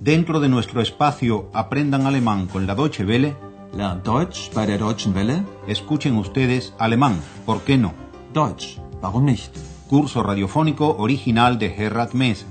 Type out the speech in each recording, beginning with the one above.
Dentro de nuestro espacio Aprendan Alemán con la Deutsche Welle, Lernt Deutsch bei der Deutschen Welle. escuchen ustedes alemán, ¿por qué no? Deutsch, warum nicht? Curso radiofónico original de Gerhard Mess.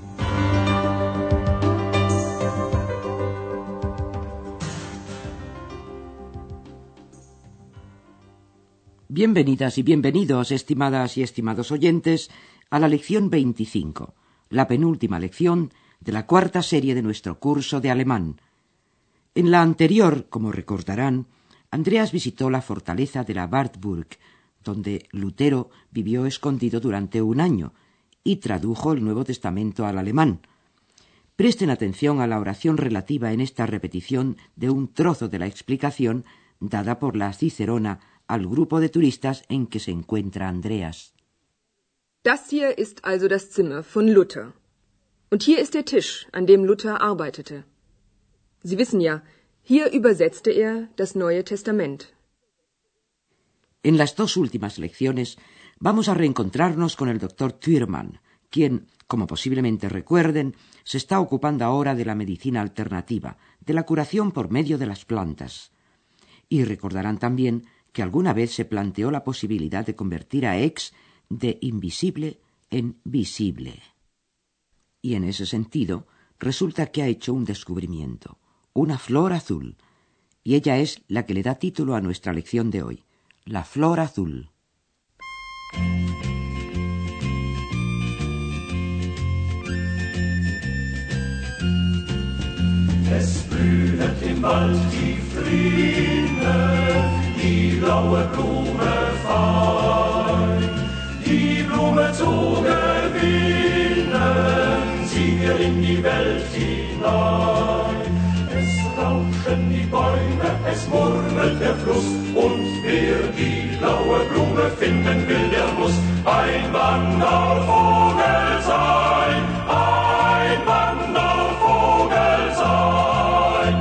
Bienvenidas y bienvenidos, estimadas y estimados oyentes, a la lección 25, la penúltima lección de la cuarta serie de nuestro curso de alemán. En la anterior, como recordarán, Andreas visitó la fortaleza de la Wartburg, donde Lutero vivió escondido durante un año y tradujo el Nuevo Testamento al alemán. Presten atención a la oración relativa en esta repetición de un trozo de la explicación dada por la Cicerona al grupo de turistas en que se encuentra Andreas. Das hier ist also das Zimmer von Luther. Und hier ist der Tisch, an dem Luther arbeitete. Sie wissen ja, hier übersetzte er das Neue Testament. En las dos últimas lecciones vamos a reencontrarnos con el Dr. Thürmann, quien, como posiblemente recuerden, se está ocupando ahora de la medicina alternativa, de la curación por medio de las plantas. Y recordarán también que alguna vez se planteó la posibilidad de convertir a X de invisible en visible. Y en ese sentido, resulta que ha hecho un descubrimiento, una flor azul, y ella es la que le da título a nuestra lección de hoy, la flor azul. Es blühet im Wald die Fliene, die blaue Blume fein. Die Blume zu gewinnen, ziehen wir in die Welt hinein. Es rauschen die Bäume, es murmelt der Fluss, und wer die blaue Blume finden will, der muss ein Wandervogel sein, ein Wandervogel sein.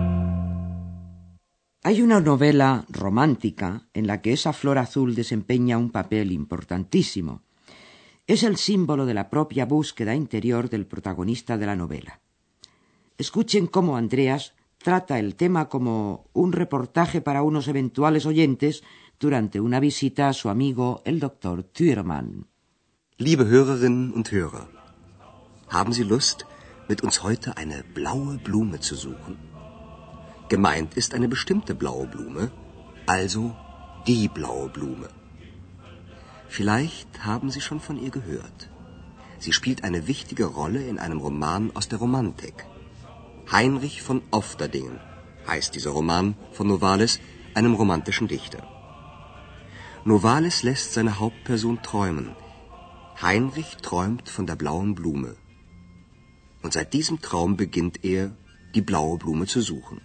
Hay una novela romántica en la que esa flor azul desempeña un papel importantísimo. Es el símbolo de la propia búsqueda interior del protagonista de la novela. Escuchen cómo Andreas trata el tema como un reportaje para unos eventuales oyentes durante una visita a su amigo el Dr. Thürmann. Liebe Hörerinnen und Hörer, haben Sie Lust, mit uns heute eine blaue Blume zu suchen? Gemeint ist eine bestimmte blaue Blume, also die blaue Blume. Vielleicht haben Sie schon von ihr gehört. Sie spielt eine wichtige Rolle in einem Roman aus der Romantik. Heinrich von Ofterdingen heißt dieser Roman von Novalis, einem romantischen Dichter. Novalis lässt seine Hauptperson träumen. Heinrich träumt von der blauen Blume. Und seit diesem Traum beginnt er, die blaue Blume zu suchen.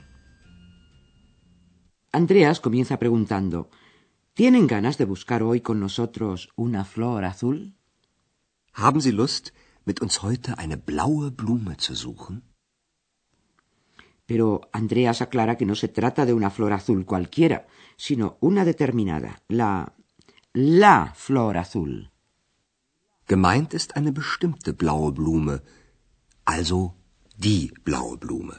Andreas comienza preguntando, ¿tienen ganas de buscar hoy con nosotros una flor azul? Haben Sie Lust, mit uns heute eine blaue Blume zu suchen? Pero Andreas aclara que no se trata de una flor azul cualquiera, sino una determinada, la flor azul. Gemeint ist eine bestimmte blaue Blume, also die blaue Blume.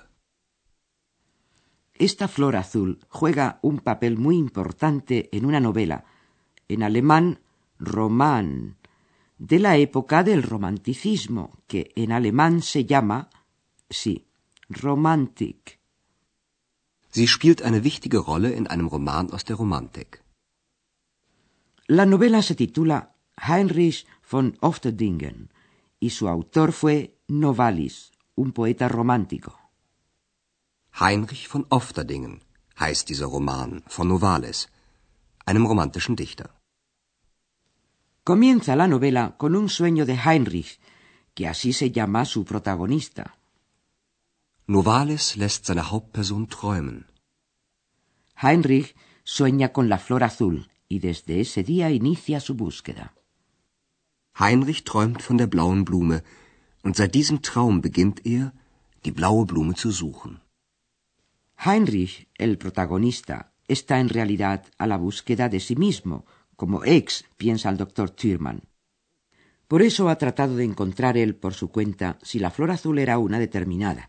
Esta flor azul juega un papel muy importante en una novela, en alemán Roman, de la época del romanticismo, que en alemán se llama, Romantik. Sie spielt eine wichtige Rolle in einem Roman aus der Romantik. La novela se titula Heinrich von Ofterdingen y su autor fue Novalis, un poeta romántico. Heinrich von Ofterdingen heißt dieser Roman von Novalis, einem romantischen Dichter. Comienza la novela con un sueño de Heinrich, que así se llama su protagonista. Novalis lässt seine Hauptperson träumen. Heinrich sueña con la flor azul y desde ese día inicia su búsqueda. Heinrich träumt von der blauen Blume und seit diesem Traum beginnt er, die blaue Blume zu suchen. Heinrich, el protagonista, está en realidad a la búsqueda de sí mismo, como X, piensa el Dr. Thürmann. Por eso ha tratado de encontrar él por su cuenta si la flor azul era una determinada,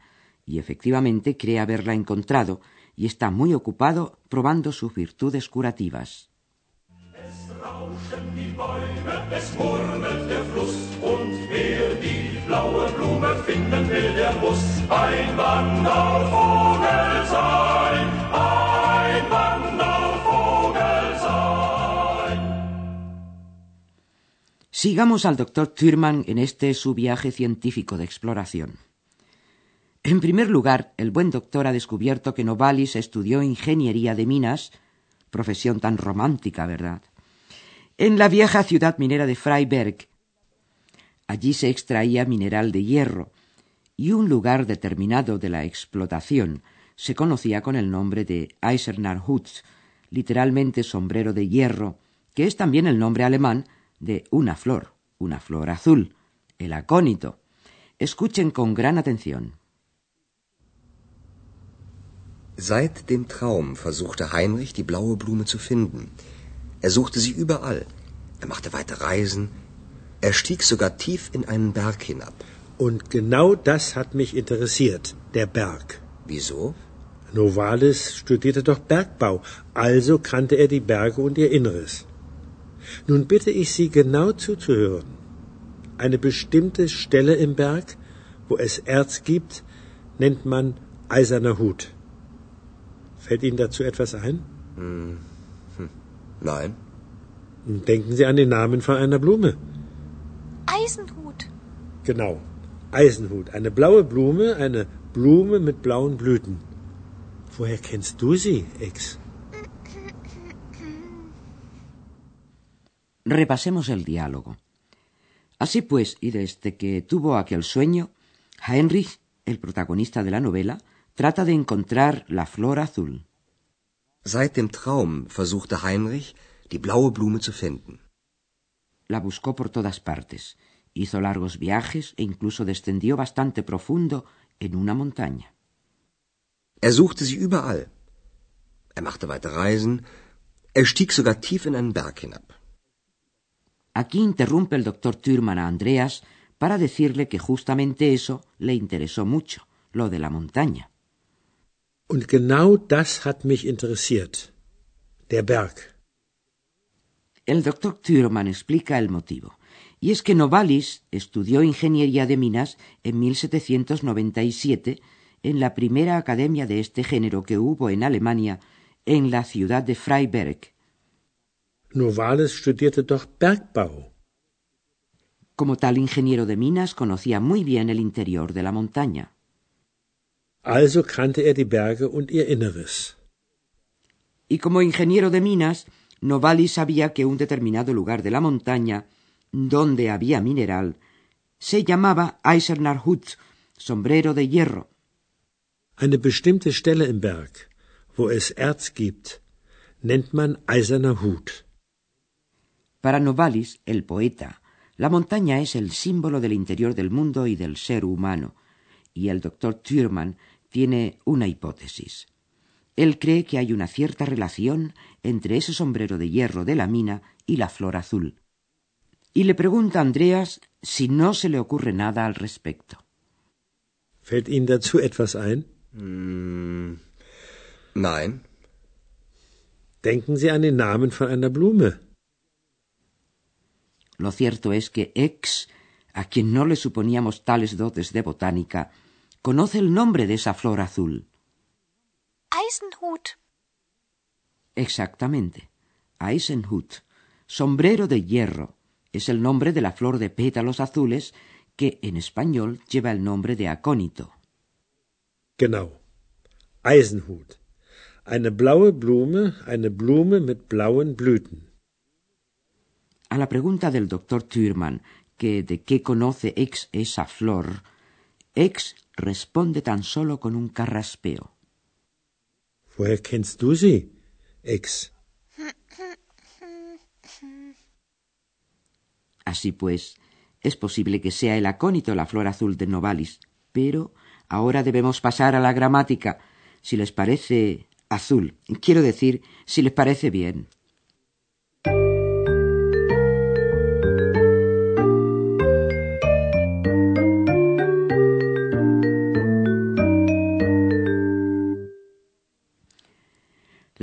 y efectivamente cree haberla encontrado y está muy ocupado probando sus virtudes curativas. Es rauschen die Bäume, es murmelt der Fluss, und wer die blaue Blume finden will, der muss ein Wandervogel sein, ein Wandervogel sein. Sigamos al doctor Thürmann en este su viaje científico de exploración. En primer lugar, el buen doctor ha descubierto que Novalis estudió ingeniería de minas, profesión tan romántica, ¿verdad?, en la vieja ciudad minera de Freiberg. Allí se extraía mineral de hierro, y un lugar determinado de la explotación se conocía con el nombre de Eiserner Hut, literalmente sombrero de hierro, que es también el nombre alemán de una flor azul, el acónito. Escuchen con gran atención. Seit dem Traum versuchte Heinrich, die blaue Blume zu finden. Er suchte sie überall. Er machte weite Reisen. Er stieg sogar tief in einen Berg hinab. Und genau das hat mich interessiert, der Berg. Wieso? Novalis studierte doch Bergbau, also kannte er die Berge und ihr Inneres. Nun bitte ich Sie genau zuzuhören. Eine bestimmte Stelle im Berg, wo es Erz gibt, nennt man Eiserner Hut. Fällt Ihnen dazu etwas ein? Nein. Denken Sie an den Namen von einer Blume. Eisenhut. Genau, Eisenhut. Eine blaue Blume, eine Blume mit blauen Blüten. Woher kennst du sie, Ex? Repasemos el diálogo. Así pues, y desde que tuvo aquel sueño, Heinrich, el protagonista de la novela, trata de encontrar la flor azul. Seit dem Traum versuchte Heinrich, die blaue Blume zu finden. La buscó por todas partes, hizo largos viajes e incluso descendió bastante profundo en una montaña. Er suchte sie überall. Er machte weite Reisen. Er stieg sogar tief in einen Berg hinab. Aquí interrumpe el doctor Thürmann a Andreas para decirle que justamente eso le interesó mucho, lo de la montaña. Und genau das hat mich interessiert, der Berg. El doctor Thürmann explica el motivo, y es que Novalis estudió ingeniería de minas en 1797 en la primera academia de este género que hubo en Alemania, en la ciudad de Freiberg. Novalis studierte doch Bergbau. Como tal ingeniero de minas, conocía muy bien el interior de la montaña. Also kannte er die Berge und ihr Inneres. Y como ingeniero de minas, Novalis sabía que un determinado lugar de la montaña, donde había mineral, se llamaba Eiserner Hut, sombrero de hierro. Eine bestimmte Stelle im Berg, wo es Erz gibt, nennt man Eiserner Hut. Para Novalis, el poeta, la montaña es el símbolo del interior del mundo y del ser humano, y el doctor Thürmann tiene una hipótesis. Él cree que hay una cierta relación entre ese sombrero de hierro de la mina y la flor azul. Y le pregunta a Andreas si no se le ocurre nada al respecto. Fällt Ihnen dazu etwas ein? Nein. Denken Sie an den Namen von einer Blume. Lo cierto es que X, a quien no le suponíamos tales dotes de botánica, conoce el nombre de esa flor azul. Eisenhut. Exactamente. Eisenhut, sombrero de hierro, es el nombre de la flor de pétalos azules que en español lleva el nombre de acónito. Genau. Eisenhut. Eine blaue Blume mit blauen Blüten. A la pregunta del doctor Thürmann, que de qué conoce X esa flor, X responde tan solo con un carraspeo. Woher kennst du sie, Ex? Así pues, es posible que sea el acónito la flor azul de Novalis, pero ahora debemos pasar a la gramática, si les parece azul. Quiero decir, si les parece bien.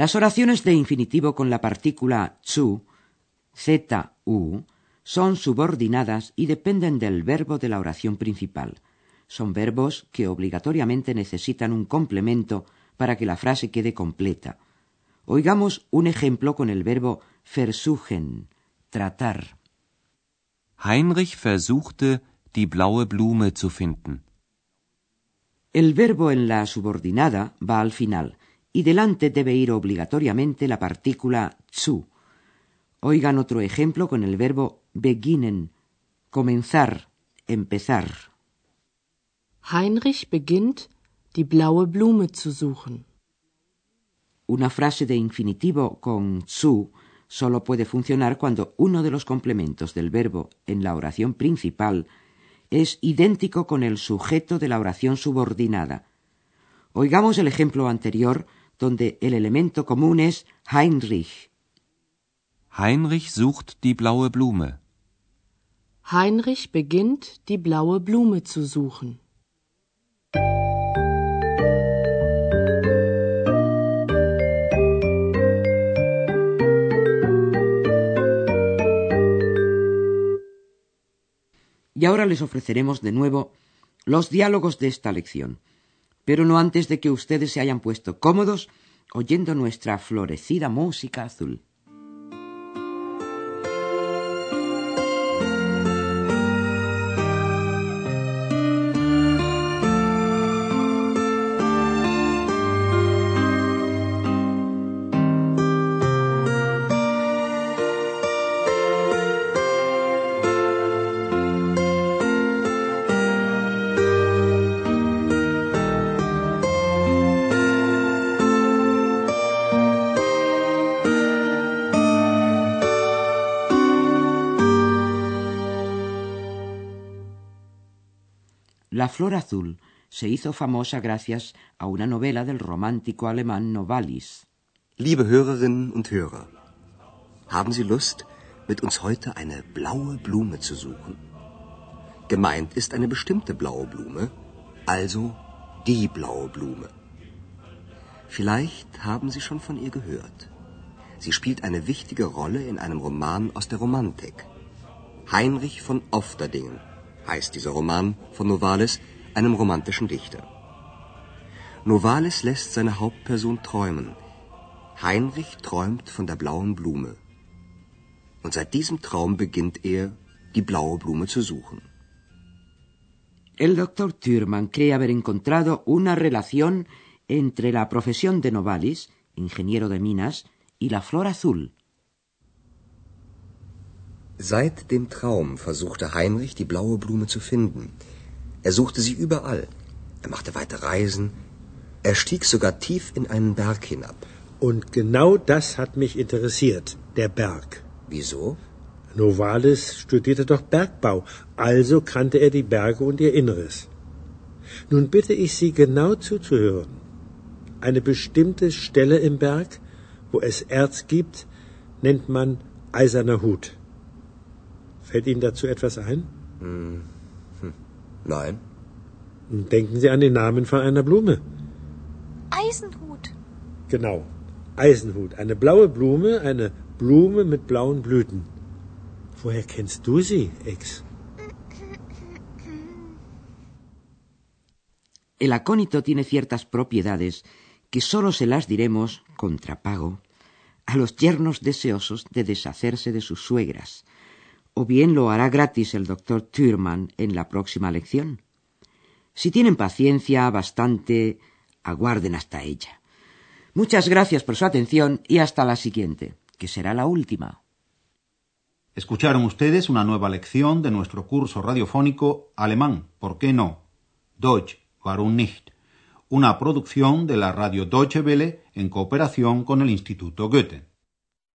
Las oraciones de infinitivo con la partícula zu, zu, son subordinadas y dependen del verbo de la oración principal. Son verbos que obligatoriamente necesitan un complemento para que la frase quede completa. Oigamos un ejemplo con el verbo versuchen, tratar. Heinrich versuchte, die blaue Blume zu finden. El verbo en la subordinada va al final y delante debe ir obligatoriamente la partícula zu. Oigan otro ejemplo con el verbo beginnen, comenzar, empezar. Heinrich beginnt, die blaue Blume zu suchen. Una frase de infinitivo con zu solo puede funcionar cuando uno de los complementos del verbo en la oración principal es idéntico con el sujeto de la oración subordinada. Oigamos el ejemplo anterior donde el elemento común es Heinrich. Heinrich sucht die blaue Blume. Heinrich beginnt, die blaue Blume zu suchen. Y ahora les ofreceremos de nuevo los diálogos de esta lección, pero no antes de que ustedes se hayan puesto cómodos oyendo nuestra florecida música azul. La flor azul se hizo famosa gracias a una novela del romántico alemán Novalis. Liebe Hörerinnen und Hörer, haben Sie Lust, mit uns heute eine blaue Blume zu suchen? Gemeint ist eine bestimmte blaue Blume, also die blaue Blume. Vielleicht haben Sie schon von ihr gehört. Sie spielt eine wichtige Rolle in einem Roman aus der Romantik. Heinrich von Ofterdingen heißt dieser Roman von Novalis, einem romantischen Dichter. Novalis lässt seine Hauptperson träumen. Heinrich träumt von der blauen Blume. Und seit diesem Traum beginnt er, die blaue Blume zu suchen. El doctor Thürmann cree haber encontrado una relación entre la profesión de Novalis, ingeniero de minas, y la flor azul. Seit dem Traum versuchte Heinrich, die blaue Blume zu finden. Er suchte sie überall. Er machte weite Reisen. Er stieg sogar tief in einen Berg hinab. Und genau das hat mich interessiert, der Berg. Wieso? Novalis studierte doch Bergbau, also kannte er die Berge und ihr Inneres. Nun bitte ich Sie, genau zuzuhören. Eine bestimmte Stelle im Berg, wo es Erz gibt, nennt man Eiserner Hut. Fällt Ihnen dazu etwas ein? Nein. Denken Sie an den Namen von einer Blume. Eisenhut. Genau, Eisenhut. Eine blaue Blume, eine Blume mit blauen Blüten. Woher kennst du sie, Ex? El acónito tiene ciertas propiedades que sólo se las diremos, contra pago, a los yernos deseosos de deshacerse de sus suegras, o bien lo hará gratis el doctor Thürmann en la próxima lección. Si tienen paciencia bastante, aguarden hasta ella. Muchas gracias por su atención y hasta la siguiente, que será la última. Escucharon ustedes una nueva lección de nuestro curso radiofónico Alemán, ¿por qué no? Deutsch, warum nicht? Una producción de la radio Deutsche Welle en cooperación con el Instituto Goethe.